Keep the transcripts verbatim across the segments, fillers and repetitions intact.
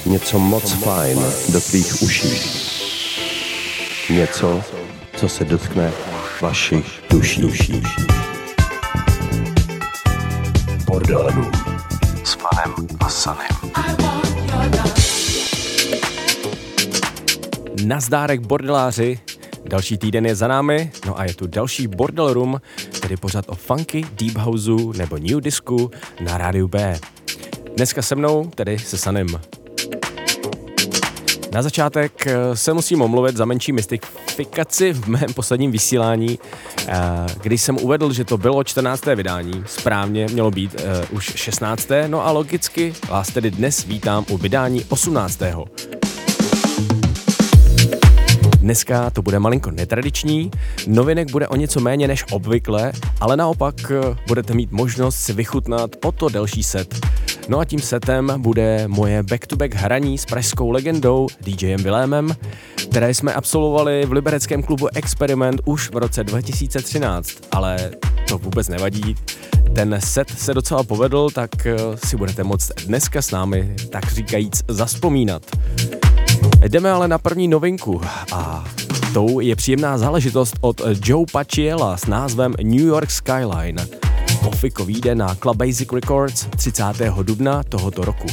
Něco moc fajn do tvých uší. Něco, co se dotkne vašich duší. duší. Bordelů s panem a Sanem. Nazdárek bordeláři, další týden je za námi, no a je tu další Bordel Room, tedy pořad o funky, deep houseu nebo new discu na rádiu B. Dneska se mnou, tedy se Sanem. Na začátek se musím omluvit za menší mystifikaci v mém posledním vysílání, když jsem uvedl, že to bylo čtrnácté vydání, správně mělo být uh, už šestnácté No a logicky vás tedy dnes vítám u vydání osmnáctého Dneska to bude malinko netradiční, novinek bude o něco méně než obvykle, ale naopak budete mít možnost si vychutnat o to delší set. No a tím setem bude moje back-to-back hraní s pražskou legendou DJem Vilémem, které jsme absolvovali v libereckém klubu Experiment už v roce dva tisíce třináct, ale to vůbec nevadí. Ten set se docela povedl, tak si budete moct dneska s námi, tak říkajíc, zavzpomínat. Jdeme ale na první novinku a tou je příjemná záležitost od Joe Paciella s názvem New York Skyline. Ofiko vyjde na Club Basic Records třicátého dubna tohoto roku.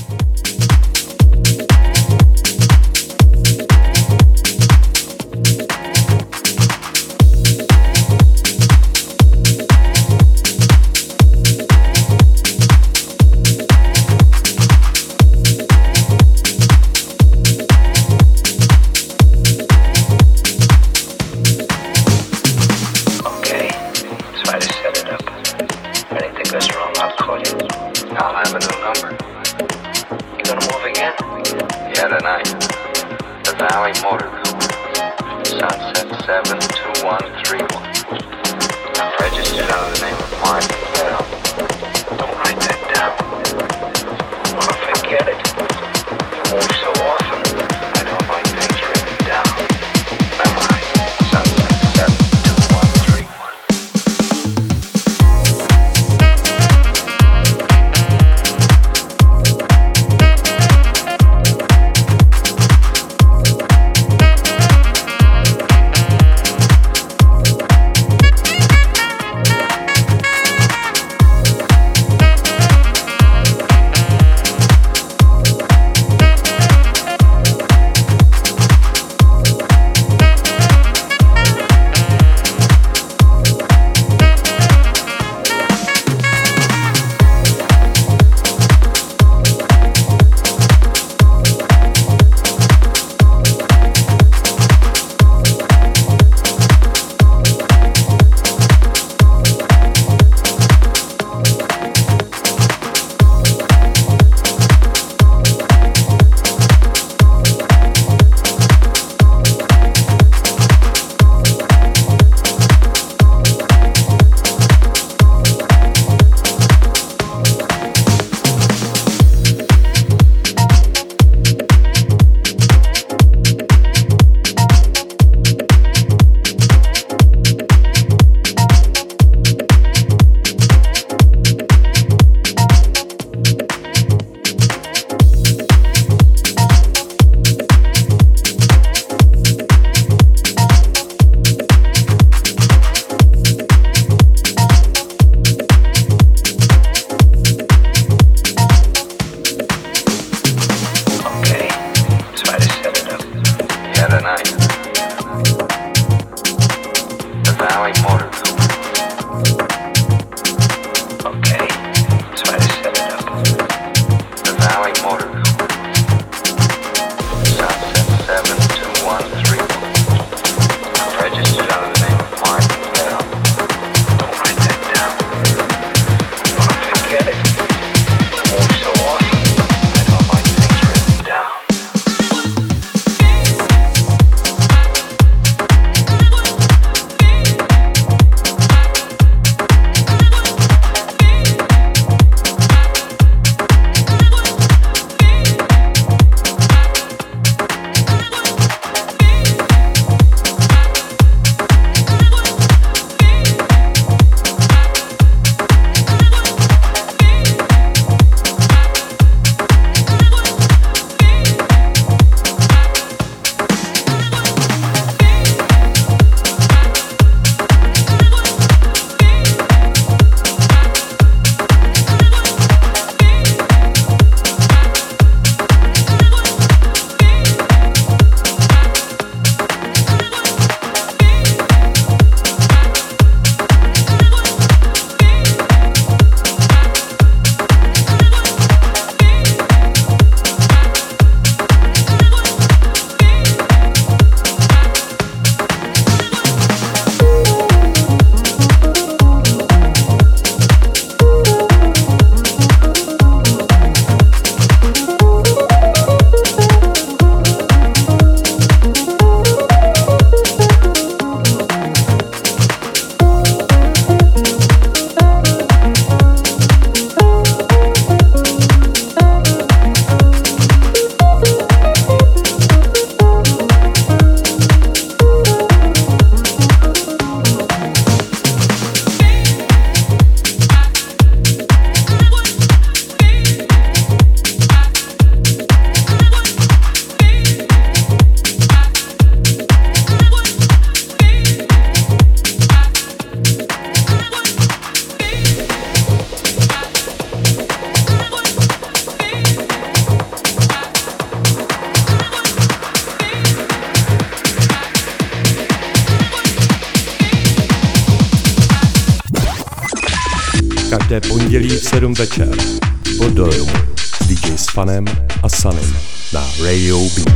Každé pondělí v sedm večer po Doru s dý džej Sfanem a Sunem na Radio B.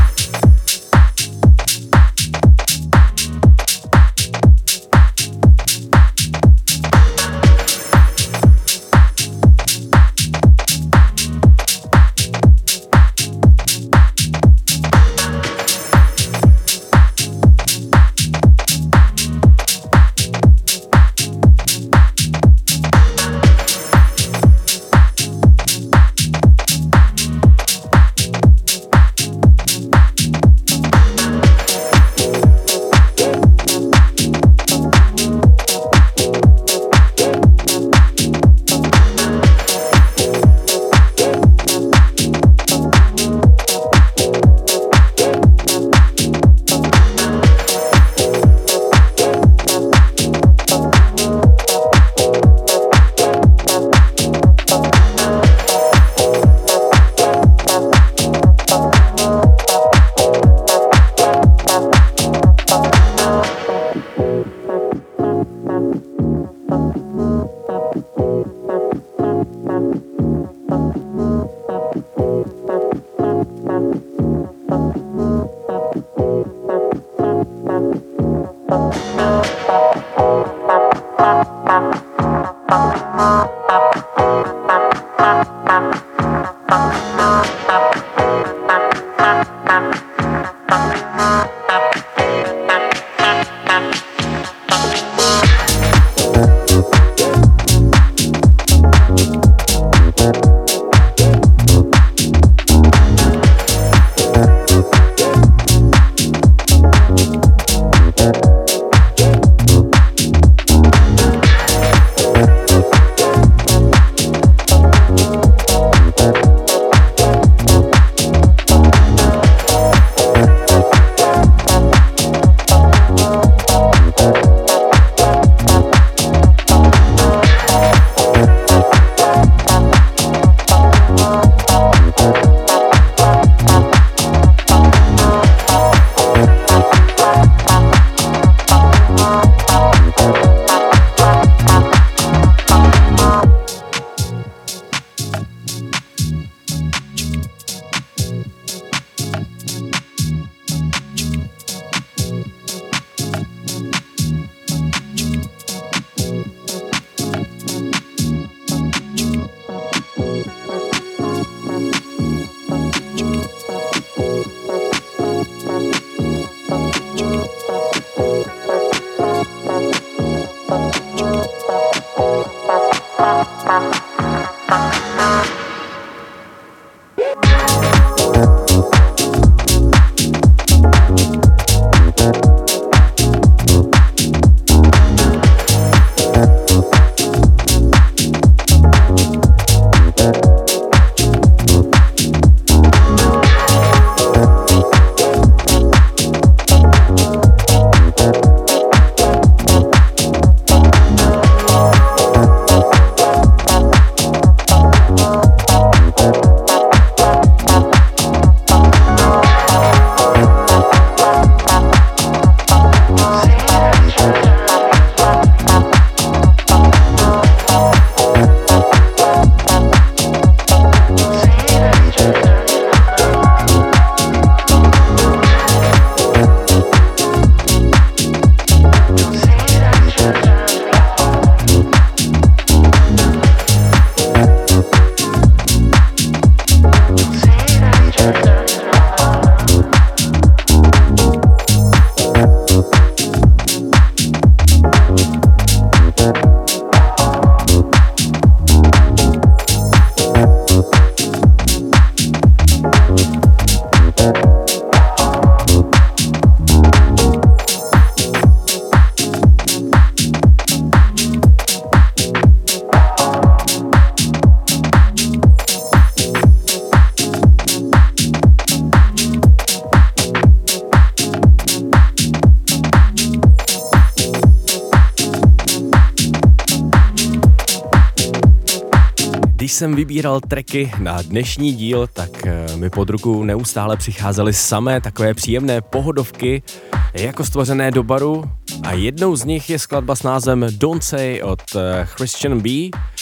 Když jsem vybíral tracky na dnešní díl, tak mi pod ruku neustále přicházely samé takové příjemné pohodovky, jako stvořené do baru, a jednou z nich je skladba s názvem Don't Say od Christian B.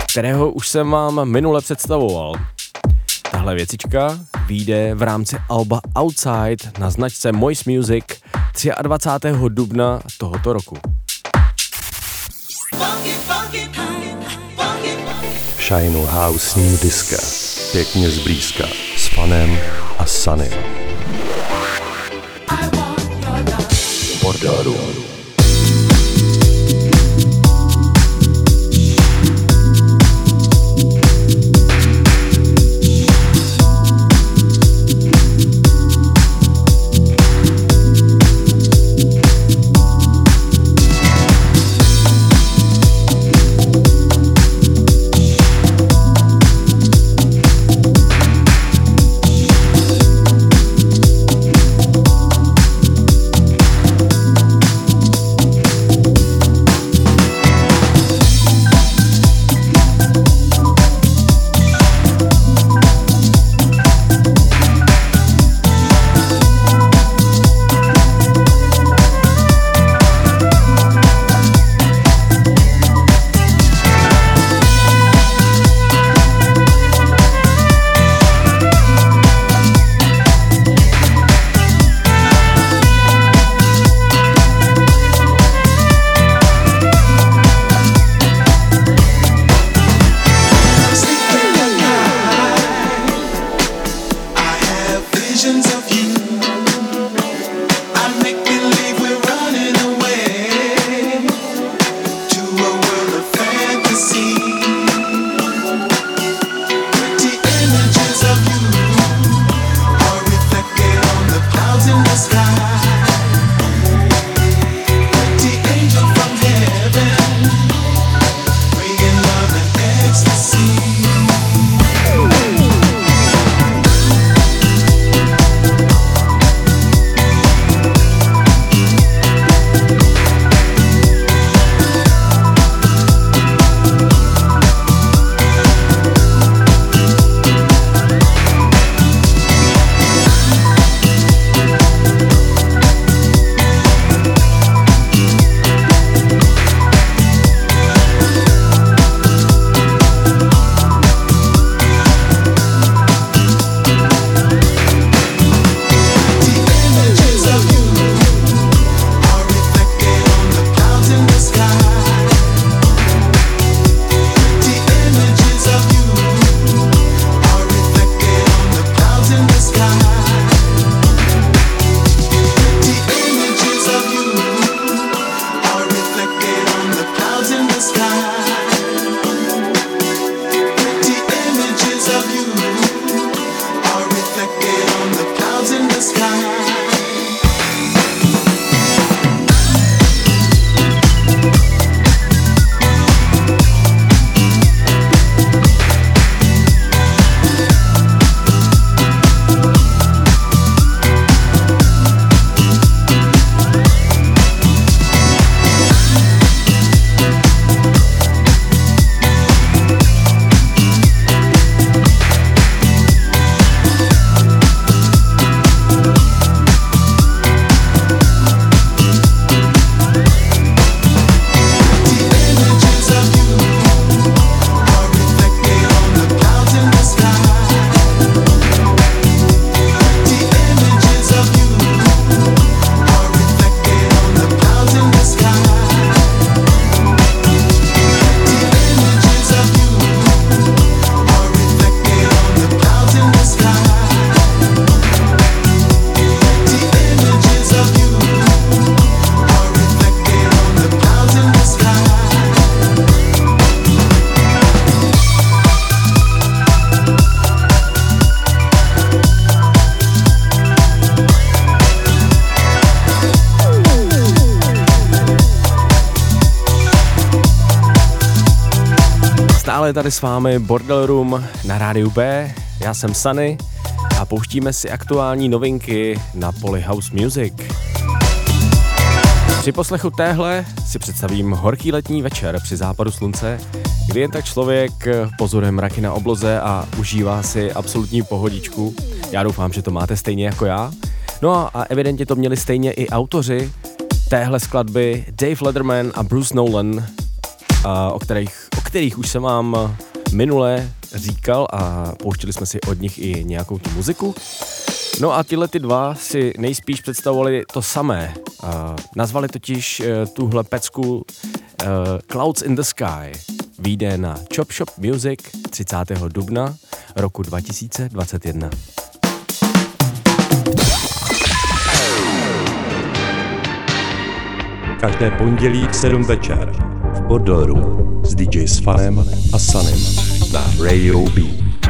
kterého už jsem vám minule představoval. Tahle věcička vyjde v rámci alba Outside na značce Moist Music dvacátého třetího dubna tohoto roku. Shine House New Disco. Pěkně zblízka s Fanem a Sunnym. Bordelroom. Stále tady s vámi Bordelroom na rádiu B, já jsem Sunny a pouštíme si aktuální novinky na poli House Music. Při poslechu téhle si představím horký letní večer při západu slunce, kdy jen tak člověk pozoruje mraky na obloze a užívá si absolutní pohodičku. Já doufám, že to máte stejně jako já. No a, a evidentně to měli stejně i autoři téhle skladby Dave Letterman a Bruce Nolan, a, o, kterých, o kterých už jsem vám minule říkal a pouštěli jsme si od nich i nějakou tu muziku. No a tyhle ty dva si nejspíš představovali to samé. Uh, nazvali totiž uh, tuhle pecku uh, Clouds in the Sky. Vyjde na Chop Shop Music třicátého dubna roku dva tisíce dvacet jedna. Každé pondělí v sedm večer v Bordello Room s dý džej Svanem a Sanem na Radio B.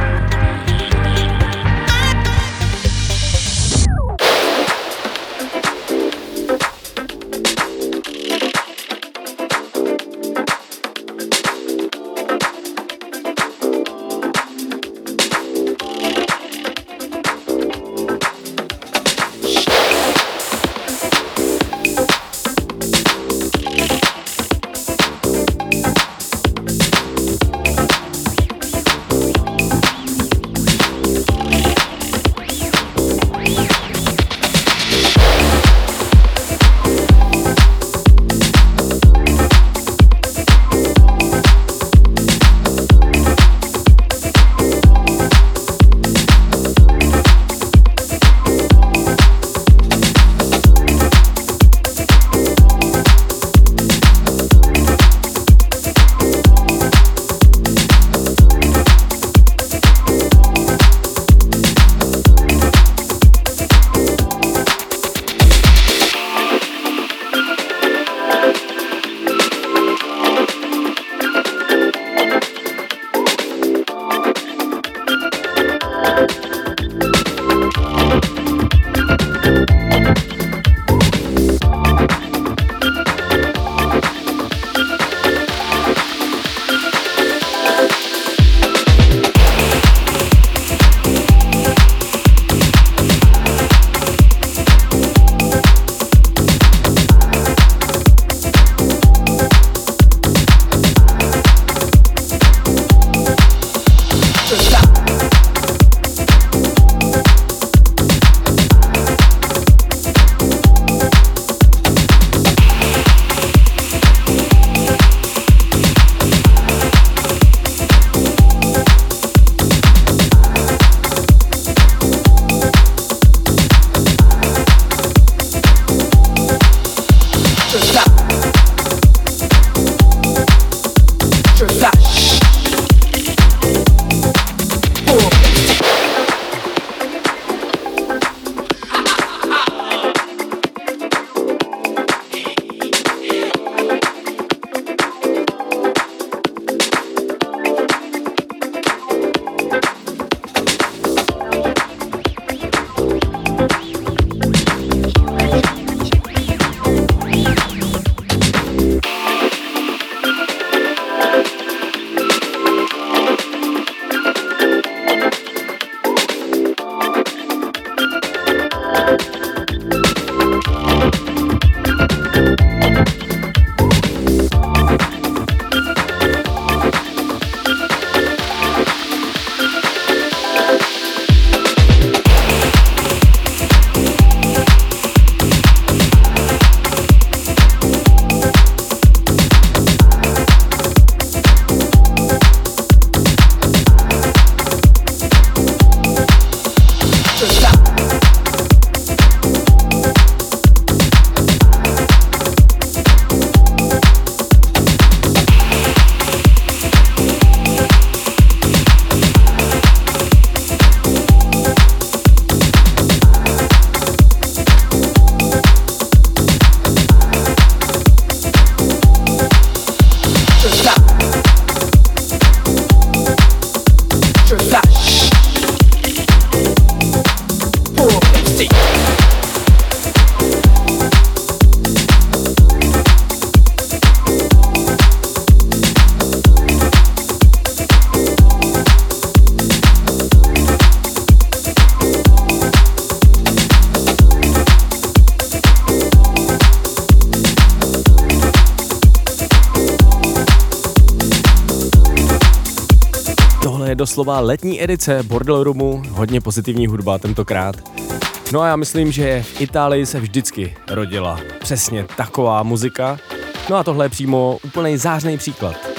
je doslova letní edice Bordello Roomu, hodně pozitivní hudba tentokrát. No a já myslím, že v Itálii se vždycky rodila přesně taková muzika. No a tohle je přímo úplnej zářný příklad.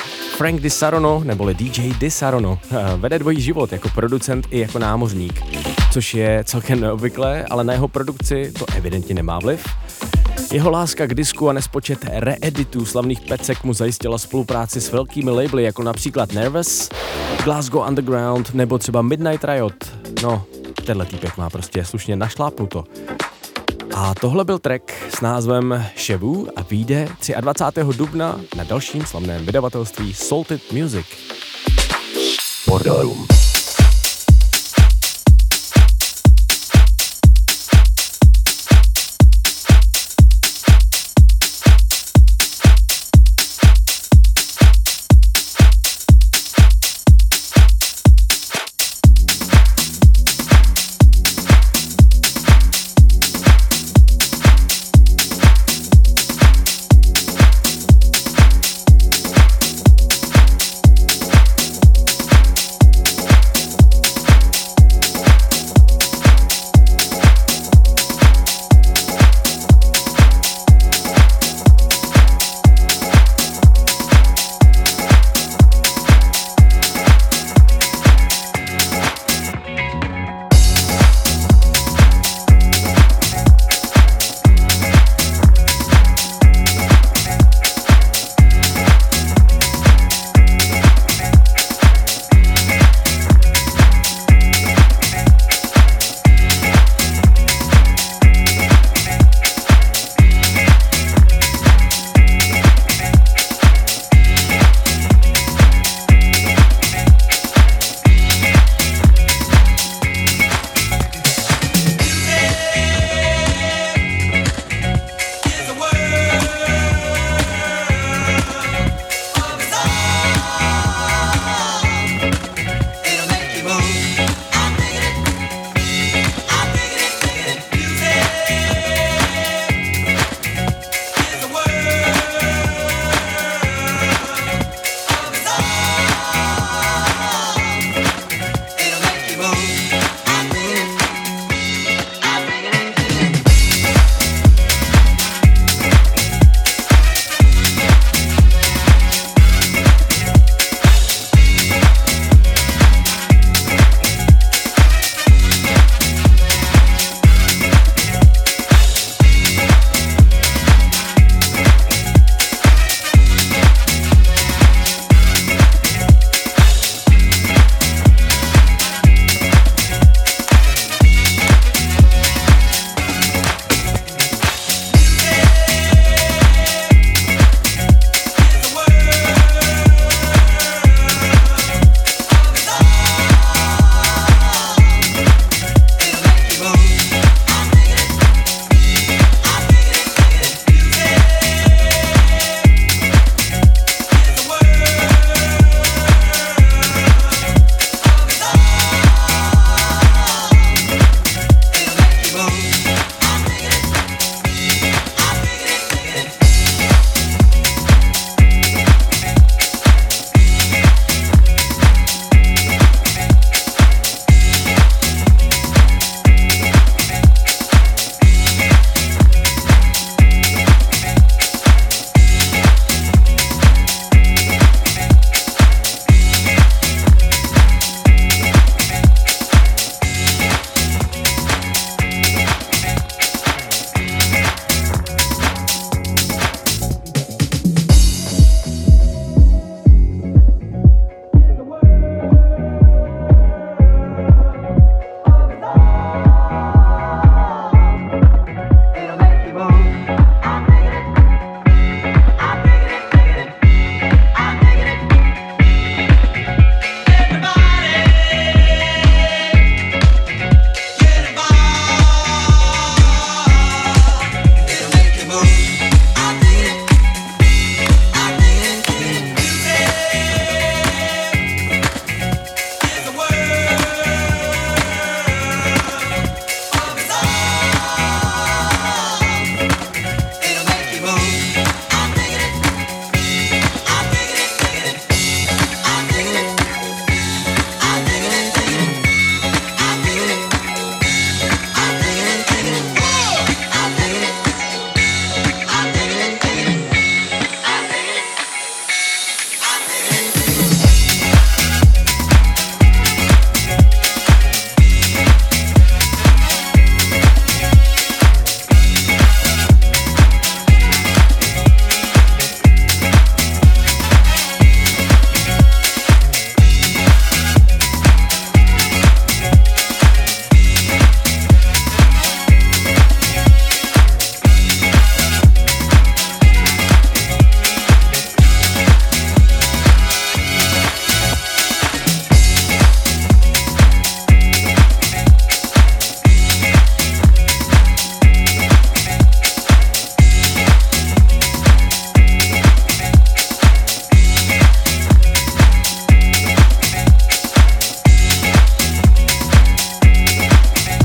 Frank DiSarono, neboli D J DiSarono, vede dvojí život jako producent i jako námořník, což je celkem neobvyklé, ale na jeho produkci to evidentně nemá vliv. Jeho láska k disku a nespočet reeditů slavných pecek mu zajistila spolupráci s velkými labely jako například Nervous, Glasgow Underground nebo třeba Midnight Riot. No, tenhle týpek má prostě slušně našlápnuto. A tohle byl track s názvem Chevu a vyjde dvacátého třetího dubna na dalším slavném vydavatelství Salted Music. Bordelum.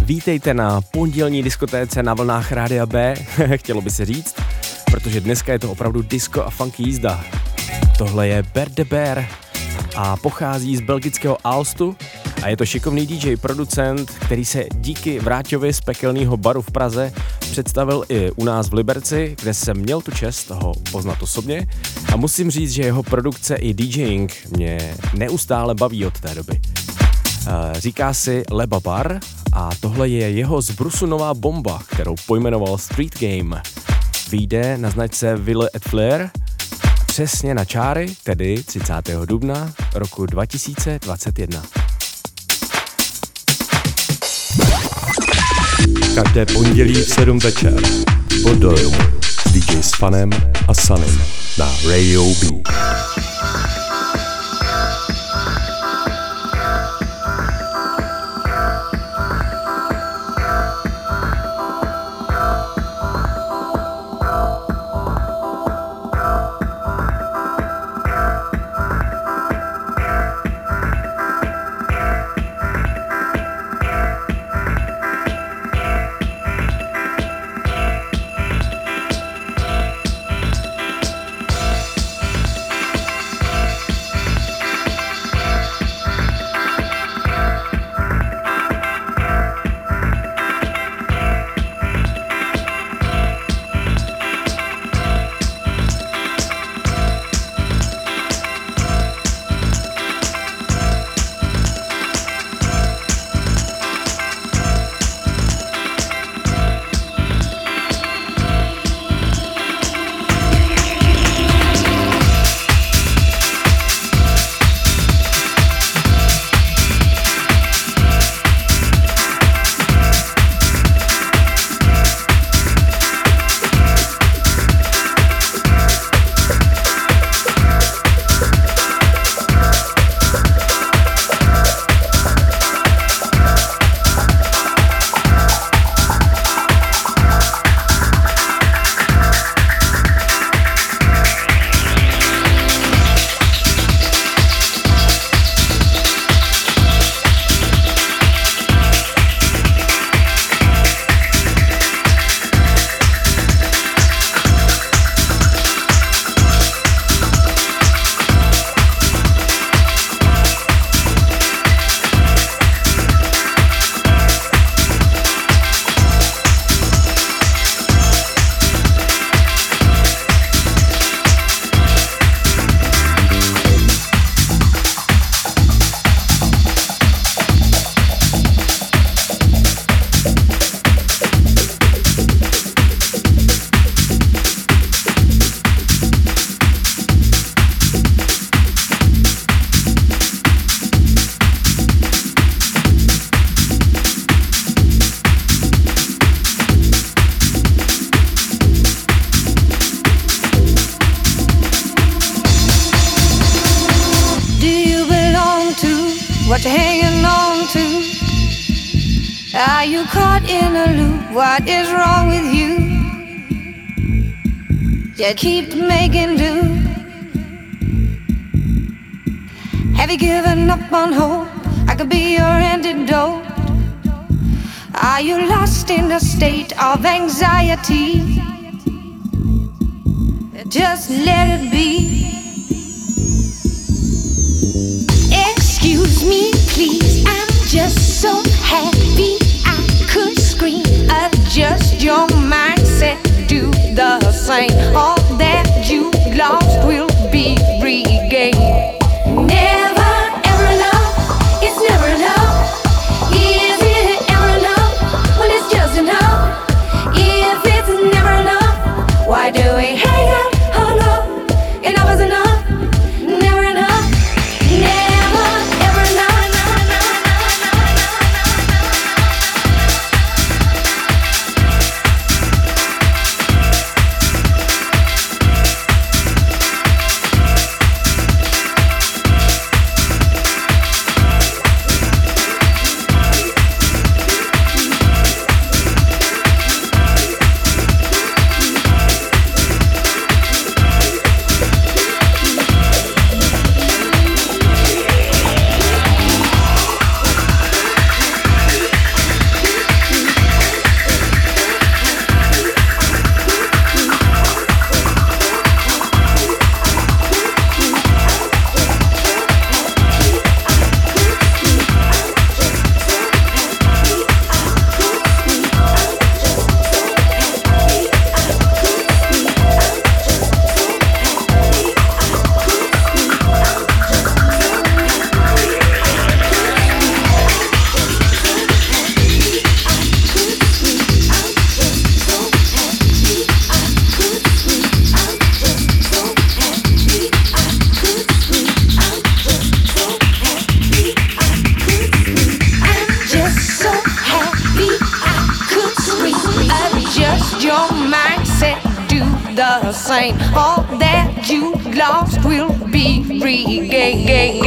Vítejte na pondělní diskotéce na vlnách Rádia B, chtělo by se říct, protože dneska je to opravdu disco a funky jízda. Tohle je Bear the Bear a pochází z belgického Aalstu a je to šikovný D J producent, který se díky Vráťovi z pekelného baru v Praze představil i u nás v Liberci, kde jsem měl tu čest ho poznat osobně a musím říct, že jeho produkce i DJing mě neustále baví od té doby. Říká si Leba Bar a tohle je jeho z Brusu nová bomba, kterou pojmenoval Street Game. Vyjde na značce Ville et Flair přesně na čáry, tedy třicátého dubna roku dva tisíce dvacet jedna. Každé pondělí v sedm večer po dojmu s D J s Fanem a Sunem na Radio B. What you hanging on to? Are you caught in a loop? What is wrong with you? You keep making do. Have you given up on hope? I could be your antidote. Are you lost in a state of anxiety? Just let it be. Excuse me, please, I'm just so happy I could scream. Adjust your mindset, do the same. All that you lost will be regained. Never ever enough, it's never enough. Is it ever enough when it's just enough? If it's never enough, why do we hang out? Oh no, enough is enough. Never enough, never ever enough. the same. All that you lost will be regained.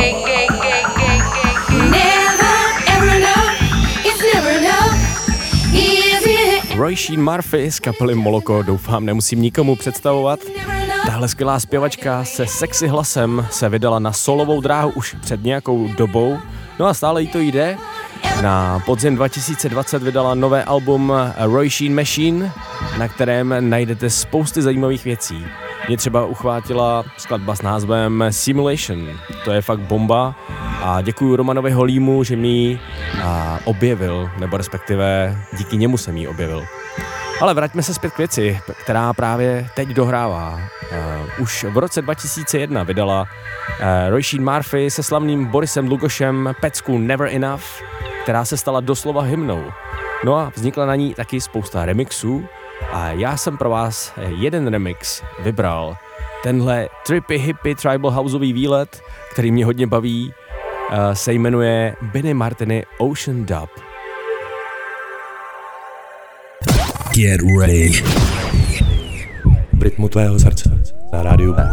Never ever enough, it's never enough. Is it? Roisin Murphy z kapely Moloko, doufám, nemusím nikomu představovat. Tahle skvělá zpěvačka se sexy hlasem se vydala na solovou dráhu už před nějakou dobou, no a stále jí to jde. Na podzim dva tisíce dvacet vydala nové album Roisin Machine, na kterém najdete spousty zajímavých věcí. Mě třeba uchvátila skladba s názvem Simulation, to je fakt bomba a děkuju Romanovi Holímu, že mi ji objevil, nebo respektive díky němu jsem ji objevil. Ale vraťme se zpět k věci, která právě teď dohrává. Uh, už v roce dva tisíce jedna vydala uh, Roisin Murphy se slavným Borisem Lugošem pecku Never Enough, která se stala doslova hymnou. No a vznikla na ní taky spousta remixů a já jsem pro vás jeden remix vybral. Tenhle trippy, hippie, tribal houseový výlet, který mě hodně baví, uh, se jmenuje Benny Martiny Ocean Dub. Get ready. V rytmu tvého srdce na rádiu B.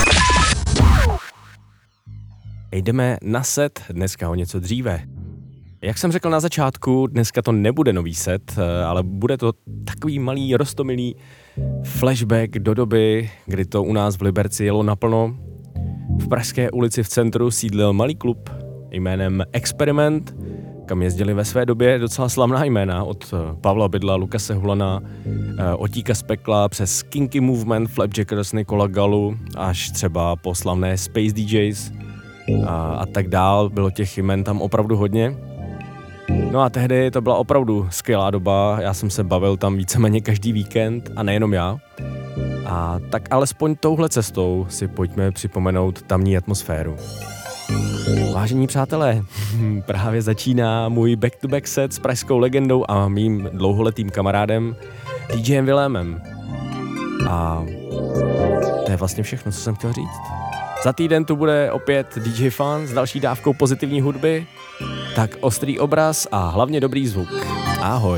Jdeme na set dneska o něco dříve. Jak jsem řekl na začátku, dneska to nebude nový set, ale bude to takový malý roztomilý flashback do doby, kdy to u nás v Liberci jelo naplno. V Pražské ulici v centru sídlil malý klub jménem Experiment, kam jezdili ve své době docela slavná jména, od Pavla Bydla, Lukase Hulana, Otíka z pekla, přes Kinky Movement, Flapjackers, Nikola Galu, až třeba po slavné Space D Js a, a tak dál. Bylo těch jmen tam opravdu hodně. No a tehdy to byla opravdu skvělá doba, já jsem se bavil tam víceméně každý víkend a nejenom já. A tak alespoň touhle cestou si pojďme připomenout tamní atmosféru. Vážení přátelé, právě začíná můj back-to-back set s pražskou legendou a mým dlouholetým kamarádem DJem Vilémem. A to je vlastně všechno, co jsem chtěl říct. Za týden tu bude opět D J Fan s další dávkou pozitivní hudby, tak ostrý obraz a hlavně dobrý zvuk. Ahoj.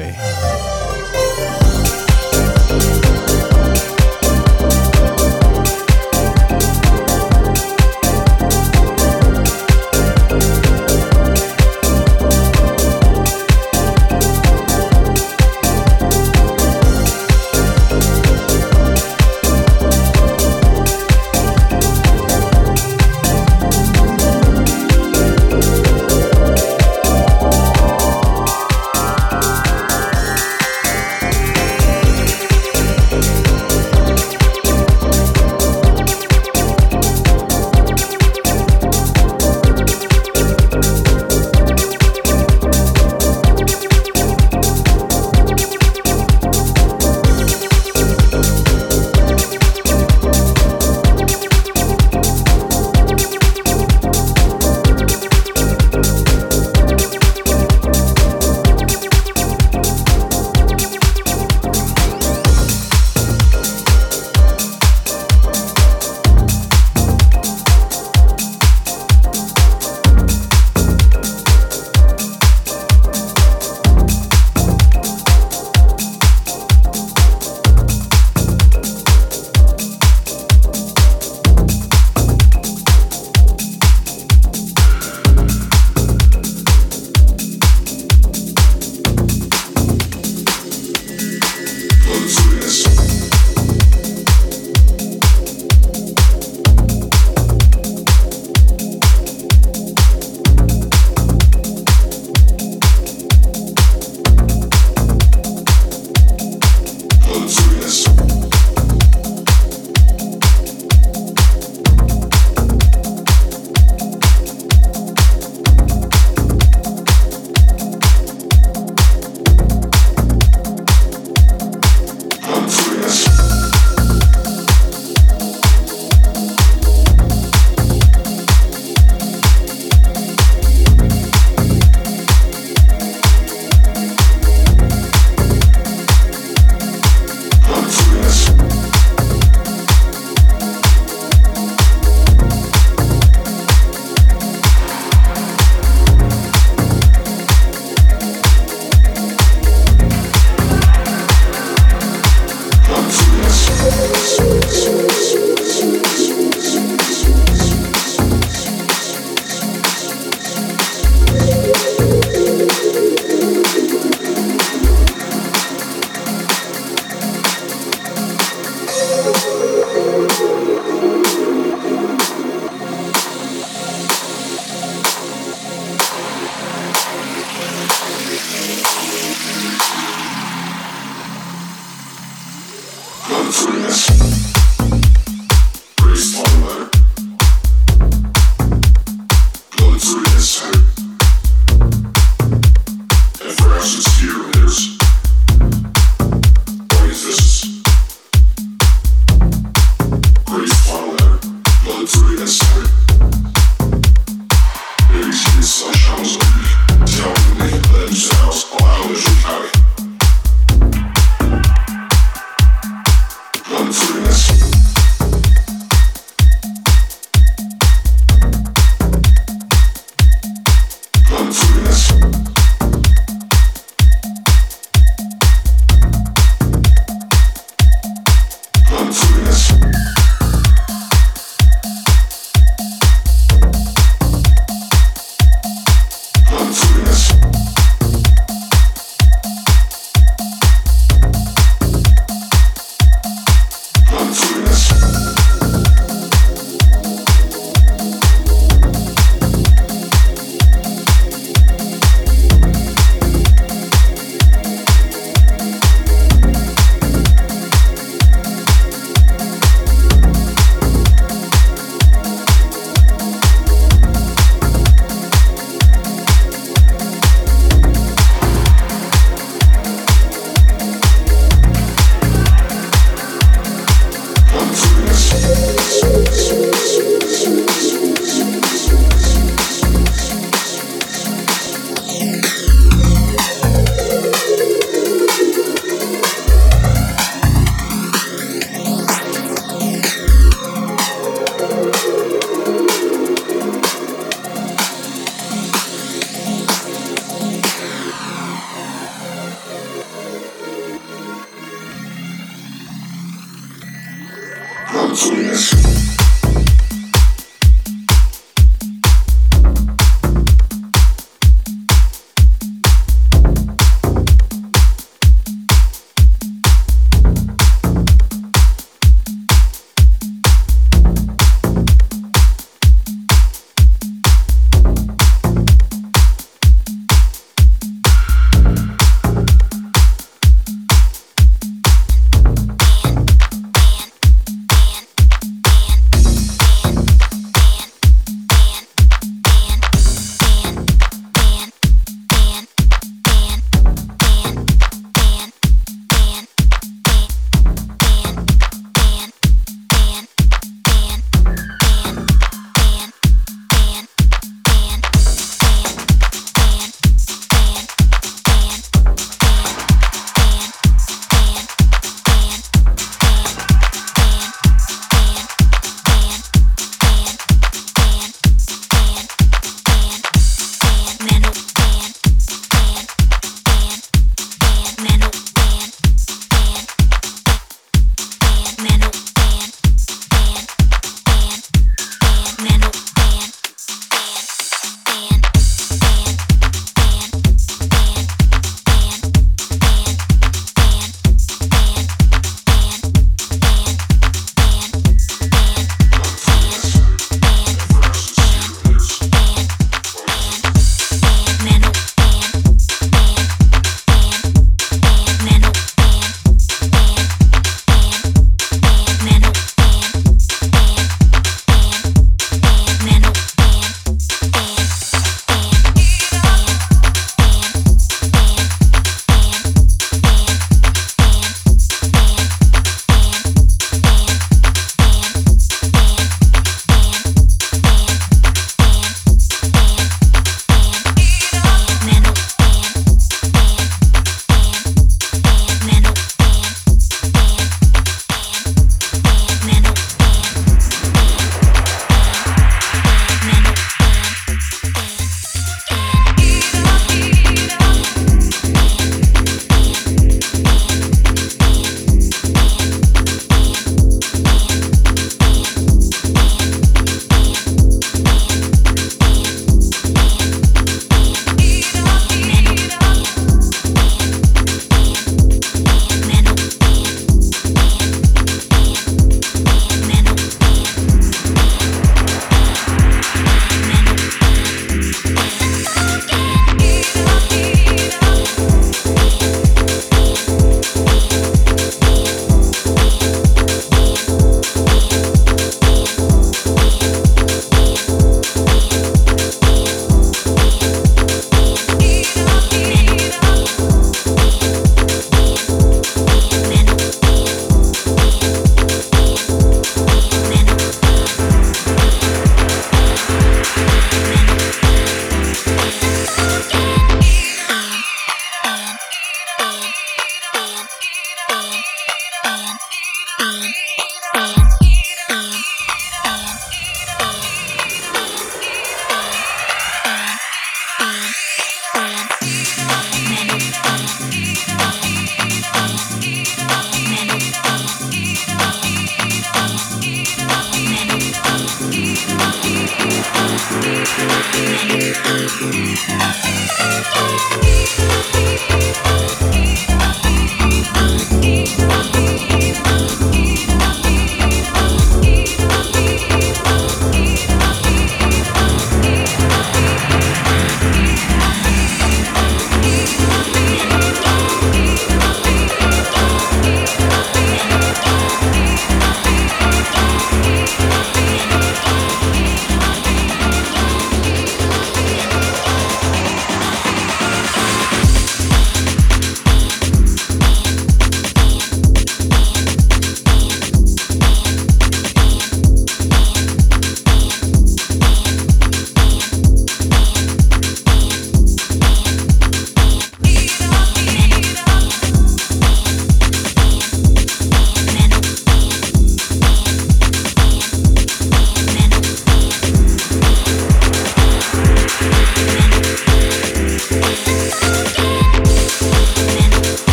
One, two.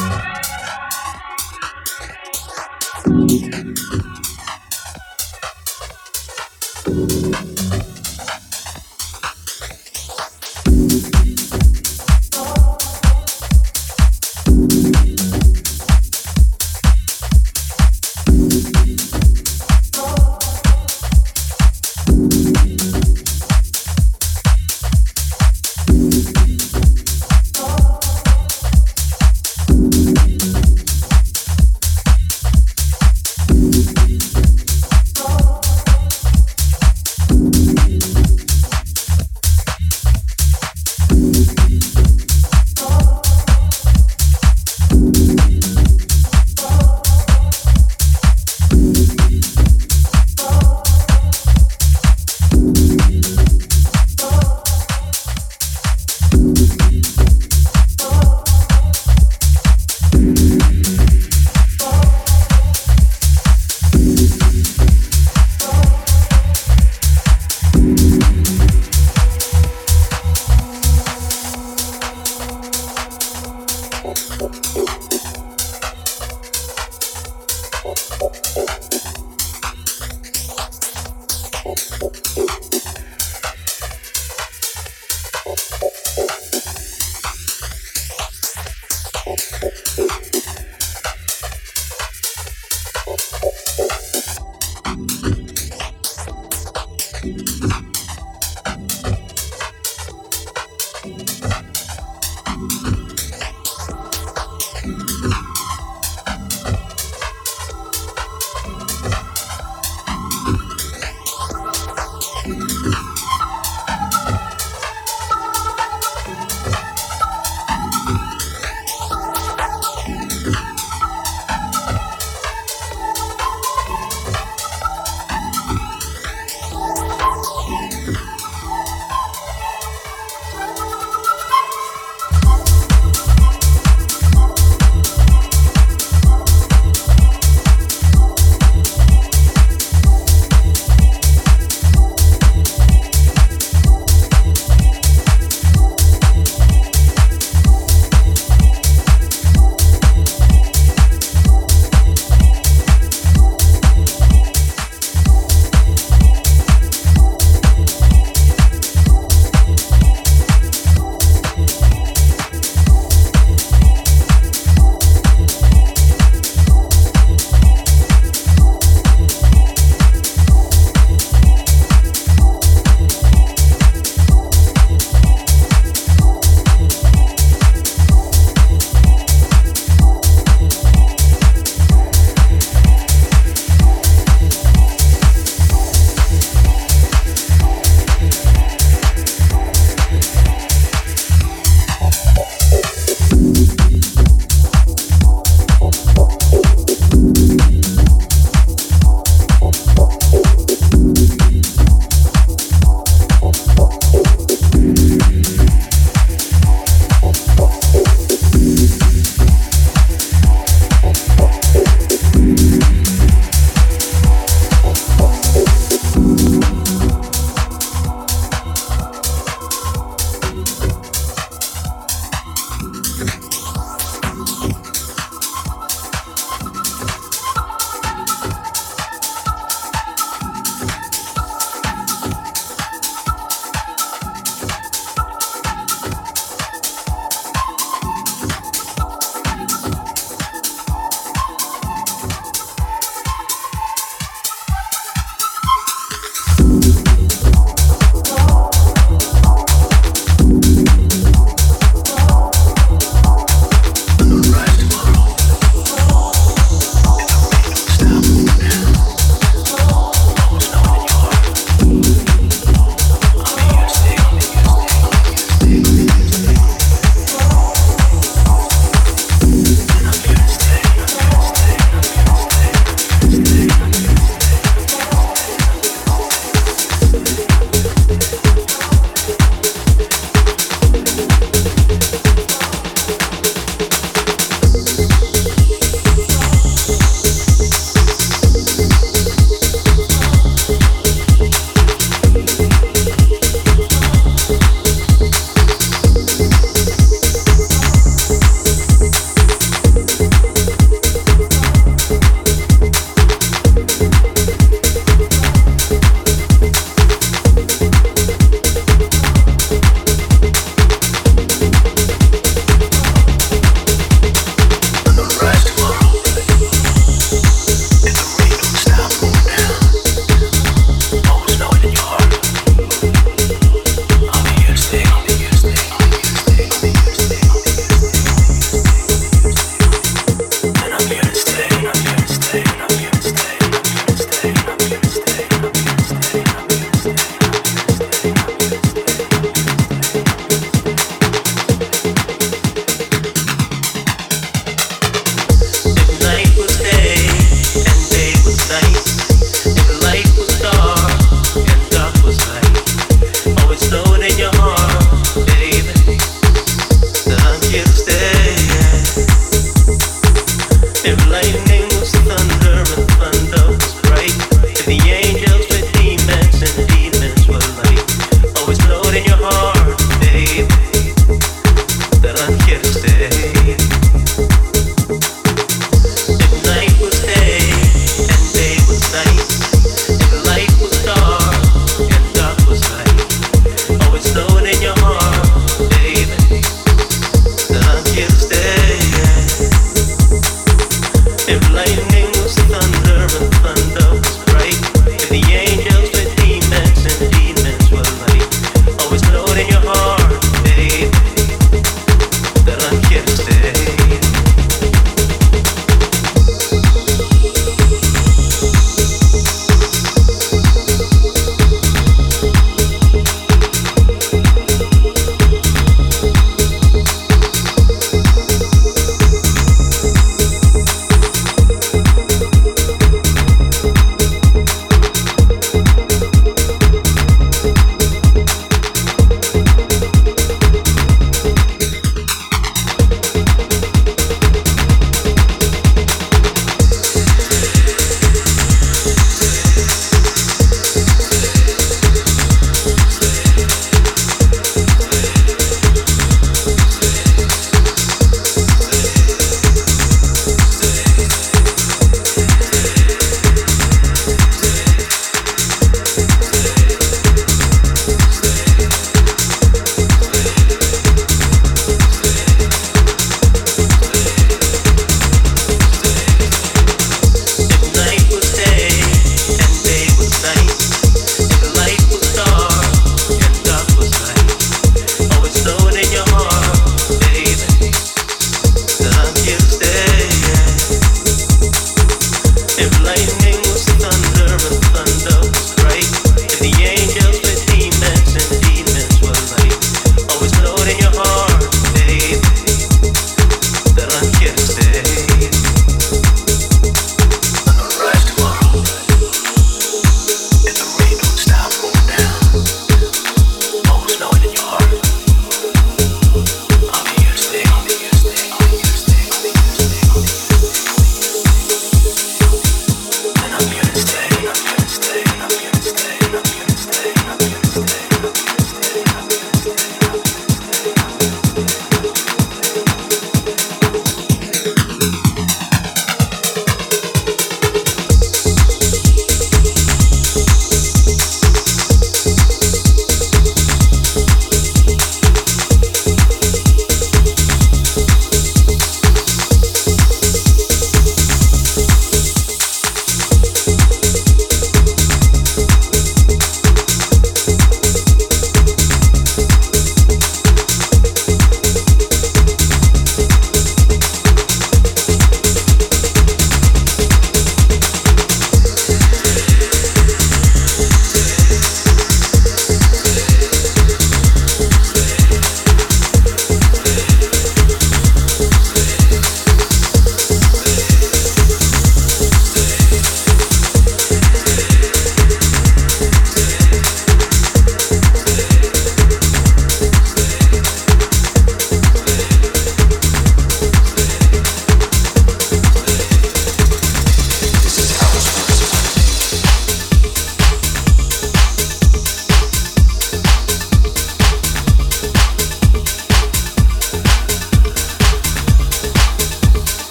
Thank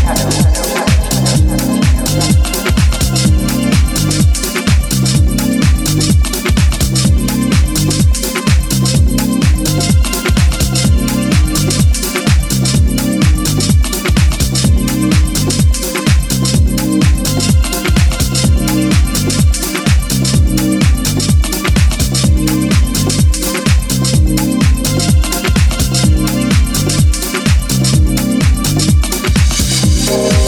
We'll be right back.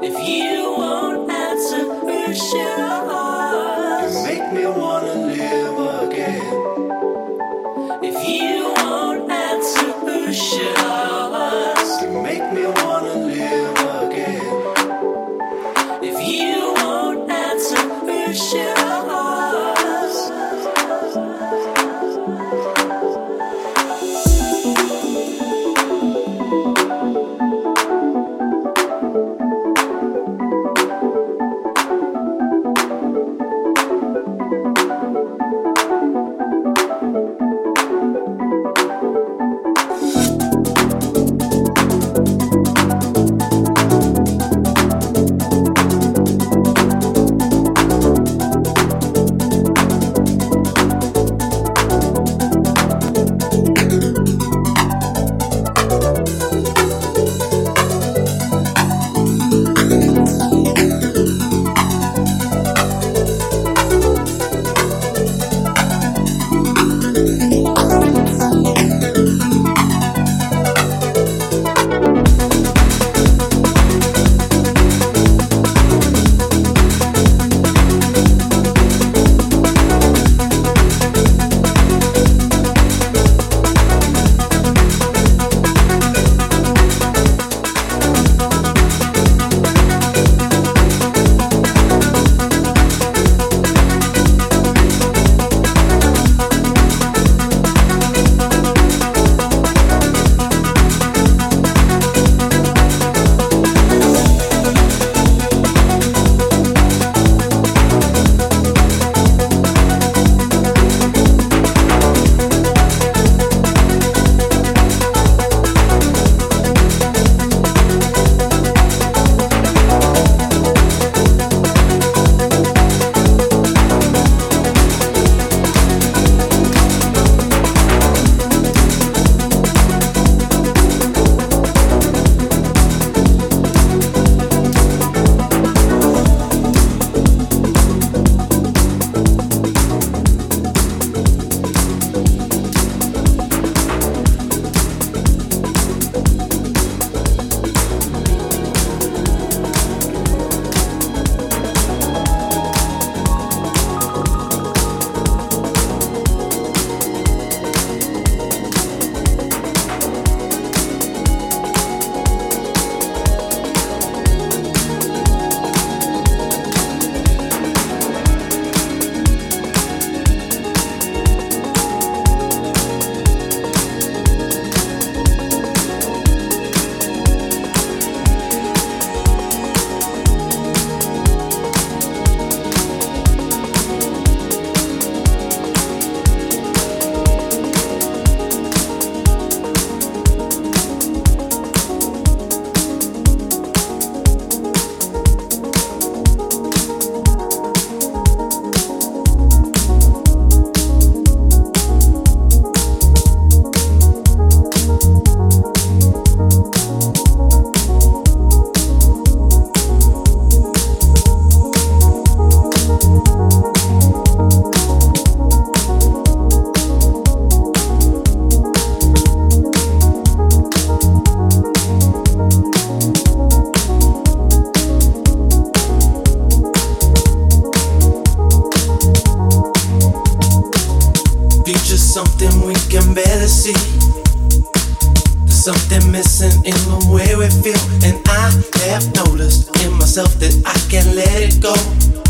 something missing in the way we feel, and I have noticed in myself that I can't let it go.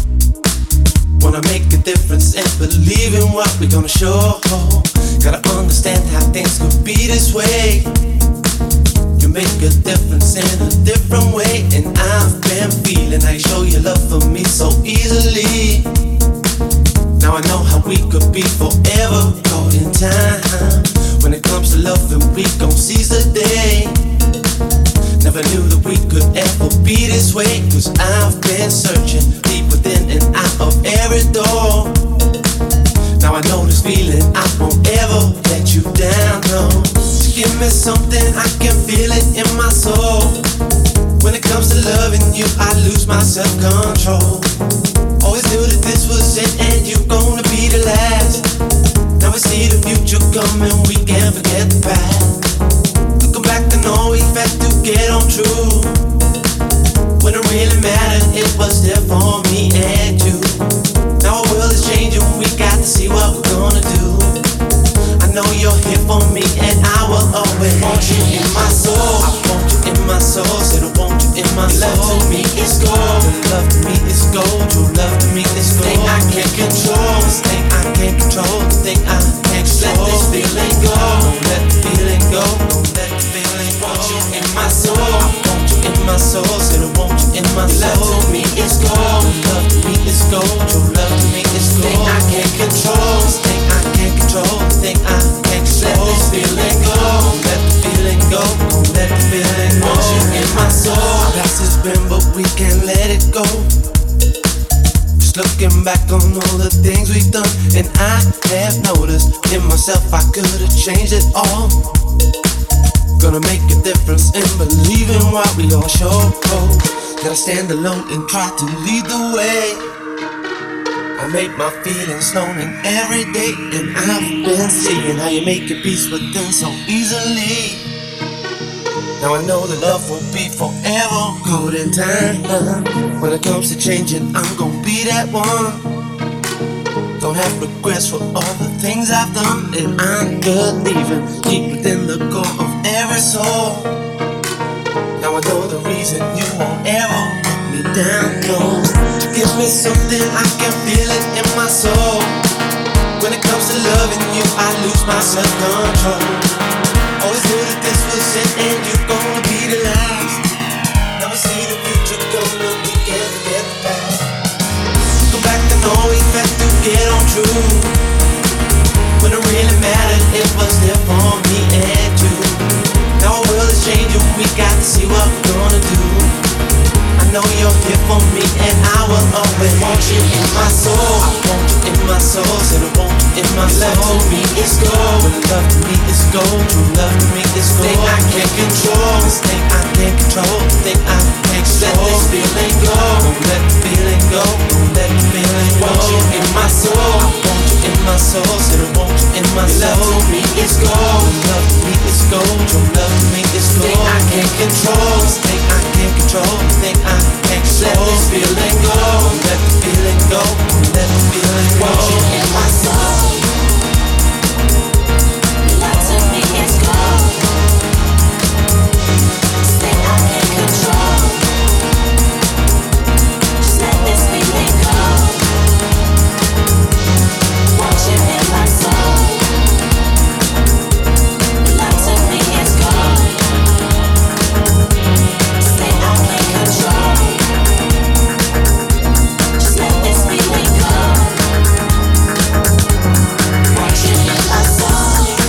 Wanna make a difference and believe in what we're gonna show. Gotta understand how things could be this way. You make a difference in a different way, and I've been feeling how you show your love for me so easily. Now I know how we could be forever caught in time. When it comes to loving, we gon' seize the day. Never knew that we could ever be this way, cause I've been searching deep within and out of every door. Now I know this feeling, I won't ever let you down, no. Give me something, I can feel it in my soul. When it comes to loving you, I lose my self-control. Always knew that this was it and you're gonna be the last. Now we see the future coming, we can't forget the past. Looking back to know we've had to get on true. When it really mattered, it was there for me and you. Now our world is changing, we got to see what we're gonna do. I know you're here for me and I will always want you in my soul. I want you in my soul, said I want you in my soul. Love to me is gold, your love to me is gold. Your love to me is gold. Thing I can't control, this thing I can't control, this thing I can't control. Let this feeling go, don't let the feeling go, don't let the feeling go. Want you in my soul, I want you in my soul, said I want you in my soul. Love to me is gold, your love to me is gold. Your love to me is gold. Thing I can't control, this thing I can't control, this thing I can't control. Let this feeling go, don't let the feeling go, don't let the feeling go. Want you in my soul. Our past has been, but we can't let it go. Just looking back on all the things we've done, and I have noticed in myself I could have changed it all. Gonna make a difference and believe in what we all show. Gotta stand alone and try to lead the way. I make my feelings known in every day, and I've been seeing how you make your peace with them so easily. Now I know that love will be forever good in time. When it comes to changing, I'm gonna be that one. Don't have regrets for all the things I've done, and I'm believing deep within the core of every soul. Now I know the reason you won't ever let me down, no. Give me something, I can feel it in my soul. When it comes to loving you, I lose my self-control. Always knew that this was it and you're gonna be the last. Never see the future coming, we can't forget the past. Go back to know we had to get on true. When it really mattered, it was there for me and you. Now our world is changing, we got to see what we're gonna do. I know you're here for me and I will always want you in my soul. I want you in my soul, said I want you in my soul. Love to me is gold, when love to me is gold. True love to me is gold. Thing I can't control, this thing I can't control, this thing I can't control. Let this feeling go, don't let the feeling go, don't let the feeling go. Want you in my soul, I want you in my soul, said I want you in my soul. Love to me is gold, love to me is gold. True love to me is gold. Thing I can't control, this thing I can't control, this thing I can't control. Let this feeling go, let the feeling go, let the feeling go. Want you in my soul. Love to me is gold. This thing I can't control. Just let this feeling go. Want you in my soul. Love to me is gold. This thing I can't control. Just let this feeling go. Want you in my soul.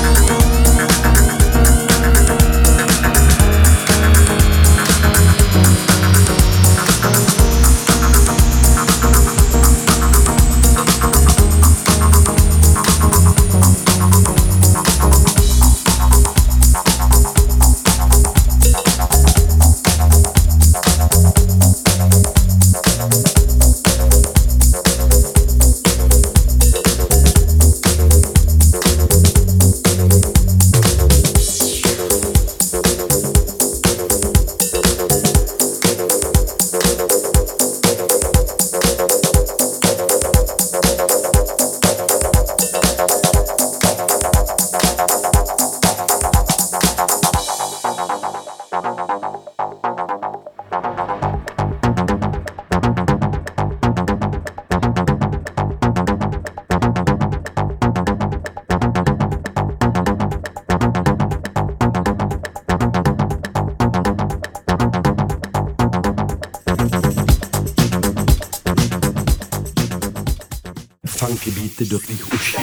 Funky beaty do tvých uší.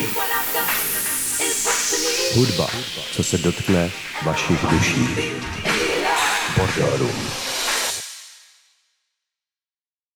Hudba, co se dotkne vašich duší. Bordelů.